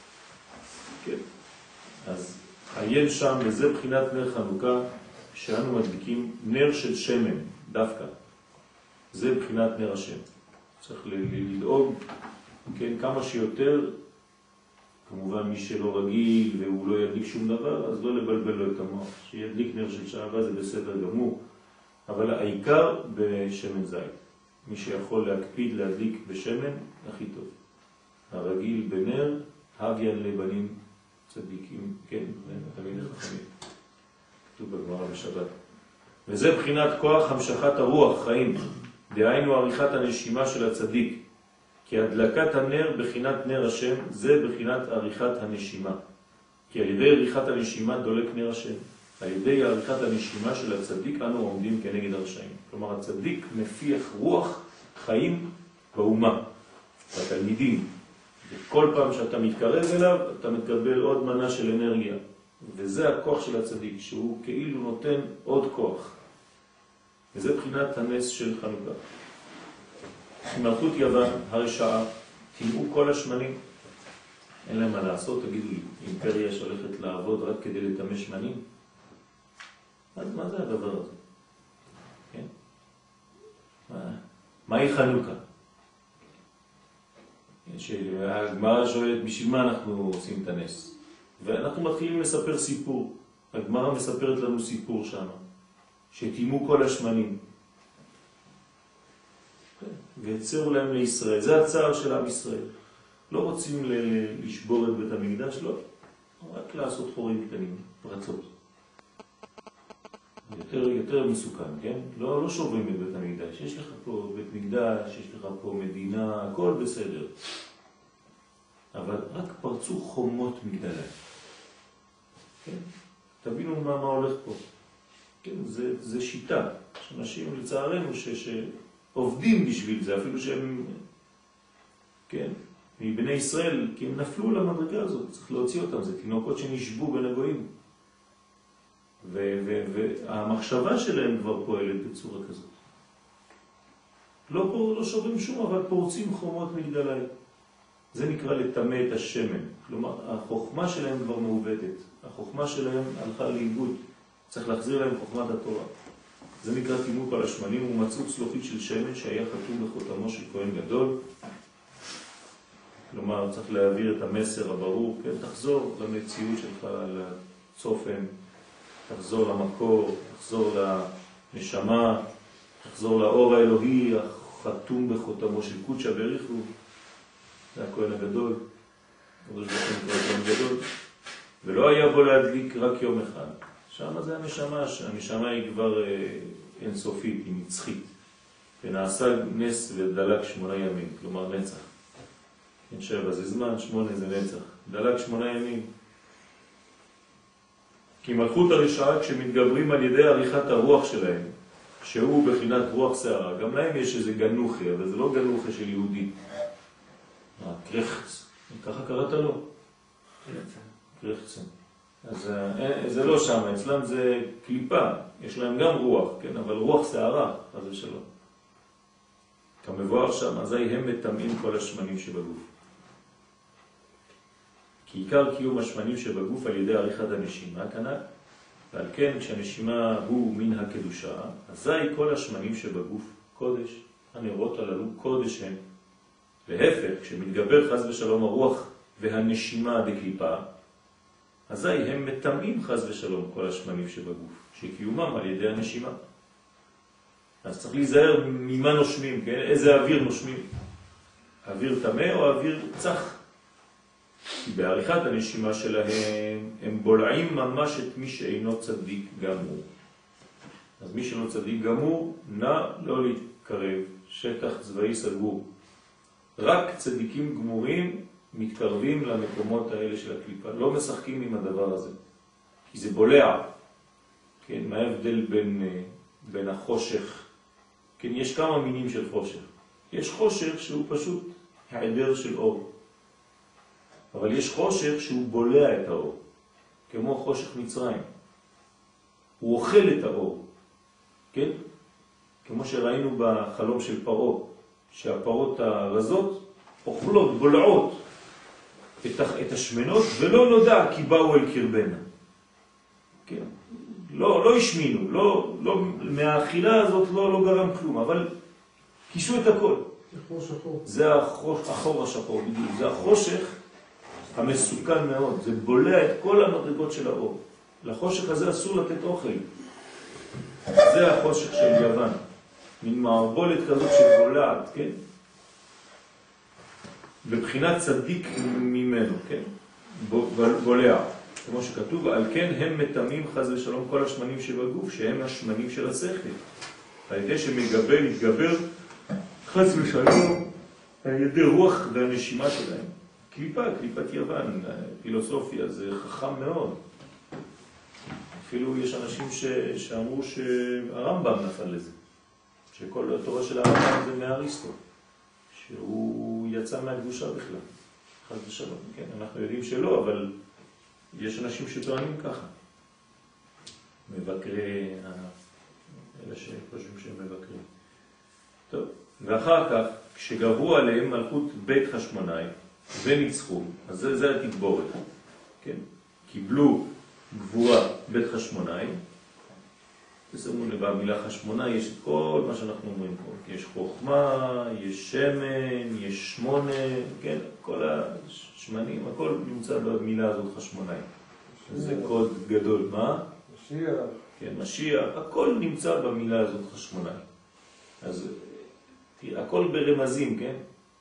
Speaker 1: כן. אז עיין שם, וזה בחינת נר חנוכה, שאנו מדליקים נר של שמן, דווקא. זה בחינת נר השם. צריך לדאוג, כן, כמה שיותר, כמובן מי שלא רגיל והוא לא ידליק שום דבר, אז לא לבלבל לו את המוח. שידליק נר של שעבה זה בסדר גמור, אבל העיקר בשמן זית. מי שיכול להקפיד להדליק בשמן, הכי טוב. הרגיל בנר, הגיה לבנים צדיקים, כן, תמיד חכמים. כתוב בגמרא בשבת. וזה בחינת כוח המשכת הרוח, חיים, דהיינו עריכת הנשימה של הצדיק. כי הדלקת הנר בחינת נר השם, זה בחינת עריכת הנשימה. כי על ידי עריכת הנשימה דולק נר השם. על ידי עריכת הנשימה של הצדיק אנו עומדים כנגד הרשעים. כלומר, הצדיק מפיח רוח חיים באומה, בתלמידים. וכל פעם שאתה מתקרב אליו, אתה מקבל עוד מנה של אנרגיה. וזה הכוח של הצדיק, שהוא כאילו נותן עוד כוח. וזה בחינת הנס של חנוכה. מלכות יוון, הרשעה, תמעו כל השמנים. אין להם מה לעשות, תגידו לי, אימפריה שהולכת לעבוד רק כדי לטמא שמנים? אז מה זה הדבר הזה? כן? מהי חנוכה? הגמרא שואלת, בשביל מה אנחנו עושים את הנס? ואנחנו מתחילים לספר סיפור. הגמרא מספרת לנו סיפור שם, שתימו כל השמנים. ויצרו להם לישראל. זה הצער של עם ישראל. לא רוצים לשבור את בית המקדש, לא. רק לעשות חורים קטנים, פרצות. יותר מסוכן, כן? לא שוברים את בית המקדש. יש לך פה בית מקדש, יש לך פה מדינה, הכל בסדר. אבל רק פרצו חומות מגדליים. כן? תבינו מה הולך פה. כן? זה שיטה. אנשים לצערנו שעובדים בשביל זה, אפילו שהם, כן, מבני ישראל, כי הם נפלו למדרגה הזאת, צריך להוציא אותם, זה תינוקות שנשבו בין הגויים. והמחשבה שלהם כבר פועלת בצורה כזאת. לא שוברים שום, אבל פורצים חומות מגדליים. זה נקרא לטמא את השמן. כלומר, החוכמה שלהם כבר מעובדת. החוכמה שלהם הלכה לאיבוד. צריך להחזיר להם חוכמת התורה. זה נקרא תימות על השמנים, ומצאו צלוחית של שמן שהיה חתום בחותמו של כהן גדול. כלומר, צריך להעביר את המסר הברור. כן, תחזור למציאות שלך, לצופן. תחזור למקור, תחזור לנשמה, תחזור לאור האלוהי החתום בחותמו של קודשא בריחו. זה הכהן הגדול, קדוש ברוך הוא נקרא כהן גדול, ולא היה בו להדליק רק יום אחד. שם זה הנשמה, הנשמה היא כבר אינסופית, היא נצחית, ונעשה נס ודלק 8 ימים, כלומר נצח. 7 זה זמן, 8 זה נצח, דלק 8 ימים. כי מלכות הרשעה, כשמתגברים על ידי עריכת הרוח שלהם, שהוא בחינת רוח שערה, גם להם יש איזה גנוחי, אבל זה לא גנוחי של יהודי. קרחץ, ככה קראת לו? קרחצן. אז זה לא שם, אצלם זה קליפה, יש להם גם רוח, כן? אבל רוח שערה, אז זה שלא. כמבואר שם, אזי הם מטמאים כל השמנים שבגוף. כי עיקר קיום השמנים שבגוף על ידי עריכת הנשימה, כנ"ל. ועל כן, כשהנשימה הוא מן הקדושה, אזי כל השמנים שבגוף קודש, הנרות הללו קודש הם. להפך, כשמתגבר חס ושלום הרוח והנשימה דקליפה, אזי הם מטמאים חס ושלום כל השמנים שבגוף, שקיומם על ידי הנשימה. אז צריך להיזהר ממה נושמים, כן? איזה אוויר נושמים? אוויר טמא או אוויר צח? כי בעריכת הנשימה שלהם הם בולעים ממש את מי שאינו צדיק גמור. אז מי שאינו צדיק גמור, נא לא להתקרב, שטח צבאי סגור. רק צדיקים גמורים מתקרבים למקומות האלה של הקליפה, לא משחקים עם הדבר הזה, כי זה בולע. כן, מה ההבדל בין החושך? כן, יש כמה מינים של חושך. יש חושך שהוא פשוט העדר של אור. אבל יש חושך שהוא בולע את האור, כמו חושך מצרים. הוא אוכל את האור, כן? כמו שראינו בחלום של פרו, שהפרות הרזות אוכלות, בולעות את השמנות, ולא נודע כי באו אל קרבנה. כן? לא השמינו, מהאכילה הזאת לא גרם כלום, אבל כיסו את הכל. זה החור השחור, זה החושך המסוכן מאוד, זה בולע את כל המדרגות של האור. לחושך הזה אסור לתת אוכל. זה החושך של יוון. מין מערבולת כזאת שבולעת, כן? בבחינת צדיק ממנו, כן? בולע. כמו שכתוב, על כן הם מתמים חז ושלום כל השמנים שבגוף, שהם השמנים של השכל. על ידי שמגבל, יתגבר, חז ושלום, על ידי רוח והנשימה שלהם. קליפת יוון, פילוסופיה, זה חכם מאוד. אפילו יש אנשים שאמרו שהרמב"ם נפל לזה. שכל התורה של הרמב"ם זה מאריסטו. שהוא יצא מהקדושה בכלל. חז ושלום, כן, אנחנו יודעים שלא, אבל יש אנשים שטוענים ככה. מבקרי, אלה שחושבים שהם מבקרים. טוב, ואחר כך, כשגברו עליהם מלכות בית חשמונאי וניצחו, אז זה התגבורת, כן? קיבלו גבורה בית חשמונאי, תשימו לב, במילה חשמונאי יש את כל מה שאנחנו אומרים פה. יש חוכמה, יש שמן, יש שמונה, כן? כל השמנים, הכל נמצא במילה הזאת חשמונאי. זה קוד גדול, מה?
Speaker 3: משיח.
Speaker 1: כן, משיח, הכל נמצא במילה הזאת חשמונאי. אז תראה, הכל ברמזים, כן?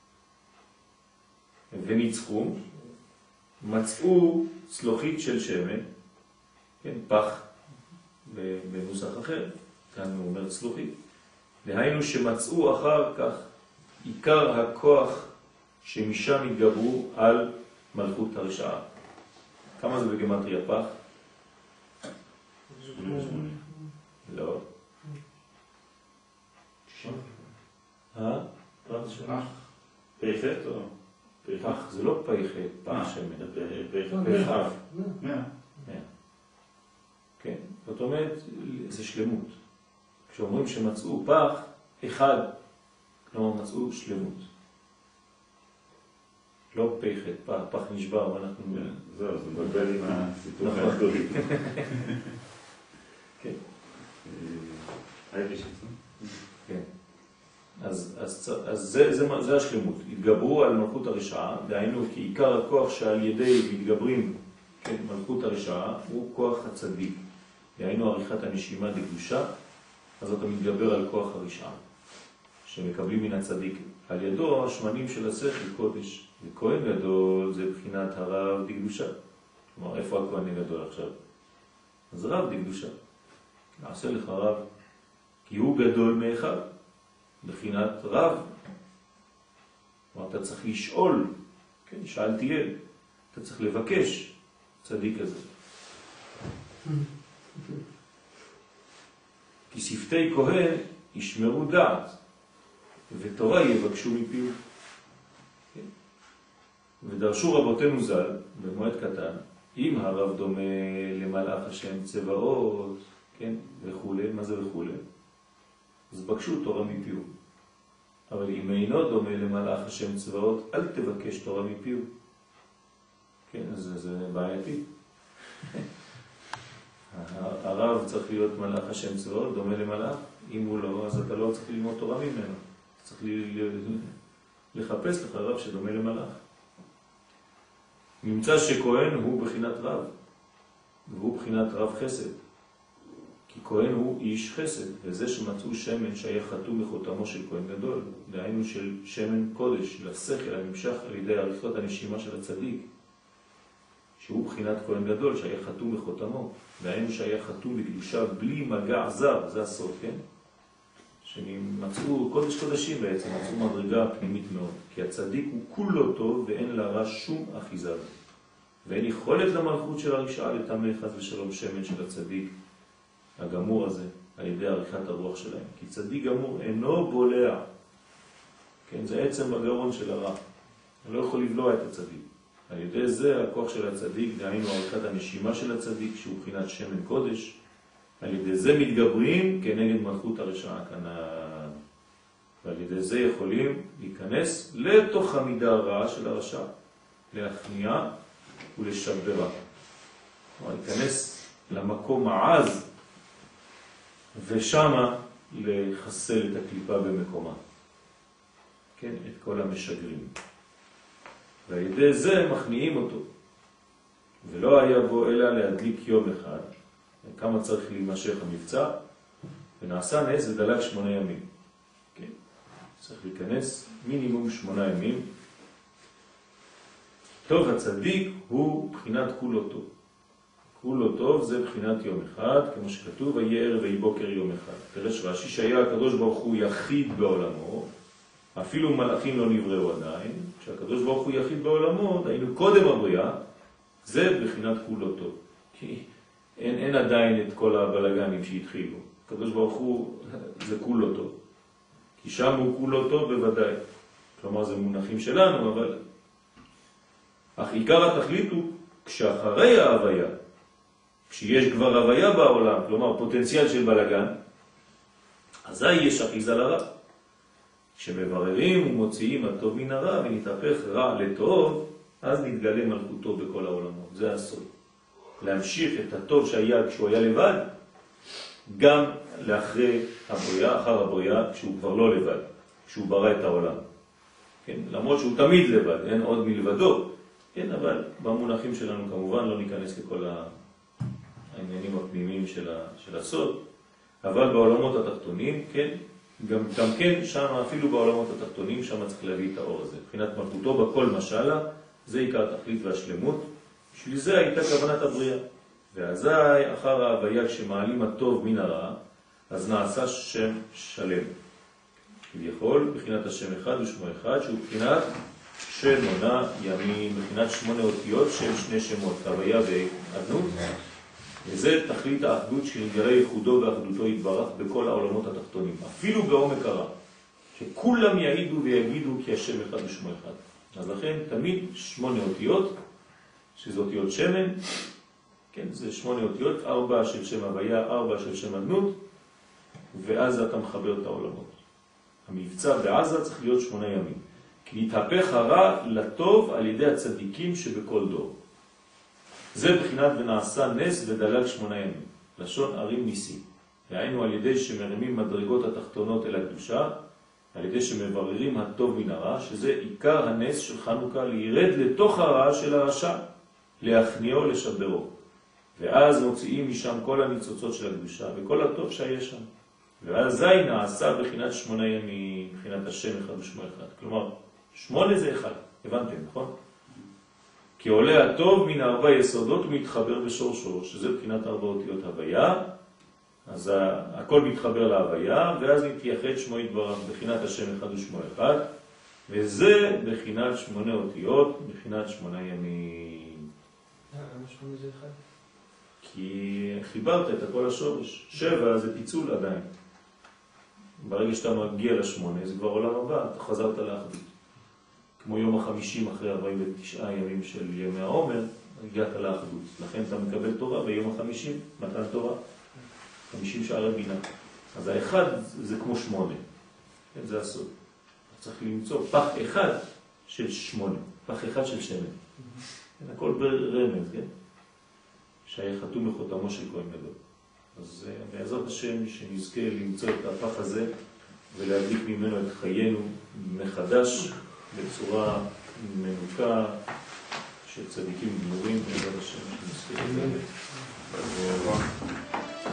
Speaker 1: וניצחו, מצאו צלוחית של שמן, כן, פח, בנוסח אחר, כאן הוא אומר צלוחית. דהיינו שמצאו אחר כך עיקר הכוח שמשם התגברו על מלכות הרשעה. כמה זה בגמטריה פח? לא.
Speaker 2: פח. פחת או?
Speaker 1: פח זה לא פחת, פח שמן.
Speaker 2: פחת.
Speaker 1: כן, זאת אומרת, זה שלמות. כשאומרים שמצאו פח, אחד, כלומר מצאו שלמות. לא פחת, פח נשבר, ואנחנו...
Speaker 2: זהו, זה מבלבל עם הסיפור האחדורי.
Speaker 1: כן.
Speaker 2: הייתי שצום.
Speaker 1: כן. אז זה השלמות. התגברו על מלכות הרשעה, דהיינו כי עיקר הכוח שעל ידי מתגברים, כן, מלכות הרשעה, הוא כוח הצדיק. דהיינו עריכת הנשימה דקדושה, אז אתה מתגבר על כוח הרשעה, שמקבלים מן הצדיק. על ידו השמנים של השכל קודש, וכהן גדול זה בחינת הרב דקדושה. כלומר, איפה הכהן הגדול עכשיו? אז רב דקדושה. נעשה לך רב, כי הוא גדול מאחד, בחינת רב. כלומר, אתה צריך לשאול, כן, שאל תהיה, אתה צריך לבקש צדיק הזה. כי שפתי כהן ישמרו דעת, ותורה יבקשו מפיו. כן? ודרשו רבותינו ז"ל, במועד קטן, אם הרב דומה למלאך השם צבאות, כן, וכו', מה זה וכו', אז בקשו תורה מפיו. אבל אם אינו דומה למלאך השם צבאות, אל תבקש תורה מפיו. כן, אז זה בעייתי. הרב צריך להיות מלאך השם צבאות, דומה למלאך. אם הוא לא, אז אתה לא צריך ללמוד תורה ממנו. צריך לחפש לך רב שדומה למלאך. נמצא שכהן הוא בחינת רב, והוא בחינת רב חסד. כי כהן הוא איש חסד, וזה שמצאו שמן שהיה חתום מחותמו של כהן גדול, דהיינו של שמן קודש, לשכל הנמשך על ידי עריכות הנשימה של הצדיק, שהוא בחינת כהן גדול שהיה חתום מחותמו, דהיינו שהיה חתום בקדושה בלי מגע זר, זה הסוד, כן? שמצאו קודש קודשים בעצם, מצאו מדרגה פנימית מאוד, כי הצדיק הוא כולו טוב ואין לרע שום אחיזה, ואין יכולת למלכות של הרשעה לטמא חס ושלום שמן של הצדיק הגמור הזה, על ידי עריכת הרוח שלהם. כי צדיק גמור אינו בולע, כן? זה עצם בגרון של הרע, הוא לא יכול לבלוע את הצדיק. על ידי זה הכוח של הצדיק, דהיינו עריכת הנשימה של הצדיק, שהוא בחינת שמן קודש, על ידי זה מתגברים כנגד מלכות הרשעה כאן, ועל ידי זה יכולים להיכנס לתוך המידה הרעה של הרשע, להכניע ולשברה. כלומר, להיכנס למקום העז, ושמה לחסל את הקליפה במקומה. כן, את כל המשגרים. ועל ידי זה מכניעים אותו. ולא היה בו אלא להדליק יום אחד. כמה צריך להימשך המבצע, ונעשה נס ודלק 8 ימים. כן? צריך להיכנס מינימום 8 ימים. טוב, הצדיק הוא בחינת כולו טוב. כולו טוב זה בחינת יום אחד, כמו שכתוב, ויהי ערב ויהי בוקר יום אחד. פירש רש"י שהיה הקדוש ברוך הוא יחיד בעולמו, אפילו מלאכים לא נבראו עדיין, כשהקדוש ברוך הוא יחיד בעולמו, היינו קודם הבריאה, זה בחינת כולו טוב. כי אין עדיין את כל הבלגנים שהתחילו. הקדוש ברוך הוא זה כולו טוב. כי שם הוא כולו טוב בוודאי. כלומר זה מונחים שלנו, אבל אך עיקר התכלית הוא כשאחרי ההוויה, כשיש כבר הוויה בעולם, כלומר פוטנציאל של בלגן, אזי יש אחיזה לרע. כשמבררים ומוציאים הטוב מן הרע ונתהפך רע לטוב, אז נתגלה מלכותו בכל העולמות. זה הסוד. להמשיך את הטוב שהיה כשהוא היה לבד, גם לאחרי הבריאה, אחר הבריאה, כשהוא כבר לא לבד, כשהוא ברא את העולם. כן? למרות שהוא תמיד לבד, אין עוד מלבדו. כן, אבל במונחים שלנו כמובן לא ניכנס לכל העניינים הפנימיים של הסוד, אבל בעולמות התחתונים, כן, גם כן שם, אפילו בעולמות התחתונים, שם צריך להביא את האור הזה. מבחינת מלכותו בכל משלה, זה עיקר התכלית והשלמות. בשביל זה הייתה כוונת הבריאה. ואזי אחר ההוויה כשמעלים הטוב מן הרע, אז נעשה שם שלם. כביכול, בחינת השם אחד ושמו אחד, שהוא בחינת שמונה ימים, בחינת 8 אותיות של 2 שמות, הוויה ואדנות. וזה תכלית האחדות שנתגלה ייחודו ואחדותו יתברך בכל העולמות התחתונים, אפילו בעומק הרע, שכולם יעידו ויגידו כי השם אחד ושמו אחד. אז לכן תמיד 8 אותיות, שזה אותיות שמן, כן, זה 8 אותיות, 4 של שם הוויה, 4 של שם אדנות, ואז אתה מחבר את העולמות. המבצע בעזה צריך להיות 8 ימים. כי נתהפך הרע לטוב על ידי הצדיקים שבכל דור. זה בחינת ונעשה נס ודלג 8 ימים. לשון ערים ניסים. והיינו על ידי שמרימים מדרגות התחתונות אל הקדושה, על ידי שמבררים הטוב מן הרע, שזה עיקר הנס של חנוכה, לירד לתוך הרע של הרשע, להכניעו לשברו. ואז מוציאים משם כל הניצוצות של הקדושה וכל הטוב שהיה שם. ואז זה נעשה בחינת 8 ימים, בחינת השם אחד ושמו אחד. כלומר, 8 זה 1, הבנתם, נכון? כי עולה הטוב מן 4 יסודות ומתחבר בשורשו, שזה בחינת 4 אותיות הוויה, אז הכל מתחבר להוויה, ואז מתייחד שמו יתברך בחינת השם אחד ושמו אחד, וזה בחינת 8 אותיות, בחינת 8 ימים.
Speaker 3: למה 8 זה 1?
Speaker 1: כי חיברת את הכל השורש. 7 זה פיצול עדיין. ברגע שאתה מגיע ל8, זה כבר עולם הבא, אתה חזרת לאחדות. כמו יום ה50 אחרי 49 ימים של ימי העומר, הגעת לאחדות. לכן אתה מקבל תורה ביום ה50, מתן תורה. 50 שערי בינה. אז האחד זה כמו 8. כן, זה הסוד. צריך למצוא פח אחד של 8. פח אחד של שמן. הכל ברמז, כן? שהיה חתום בחותמו של כהן גדול. אז בעזרת השם שנזכה למצוא את הפח הזה ולהדליק ממנו את חיינו מחדש בצורה מנוקה של צדיקים גמורים בעזרת השם שנזכה.